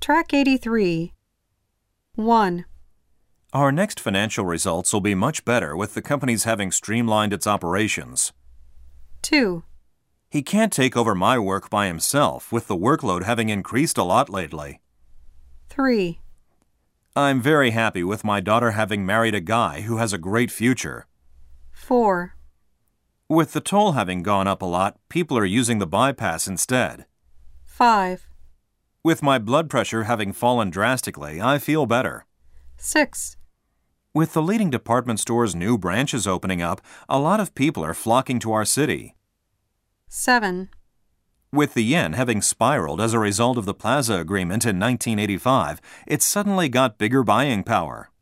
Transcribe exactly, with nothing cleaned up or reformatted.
Track eighty-three. one. Our next financial results will be much better with the company's having streamlined its operations. two. He can't take over my work by himself, with the workload having increased a lot lately. three. I'm very happy with my daughter having married a guy who has a great future. four. With the toll having gone up a lot, people are using the bypass instead. five. With my blood pressure having fallen drastically, I feel better. six. With the leading department store's new branches opening up, a lot of people are flocking to our city. seven. With the yen having spiraled as a result of the Plaza Agreement in nineteen eighty-five, it's suddenly got bigger buying power.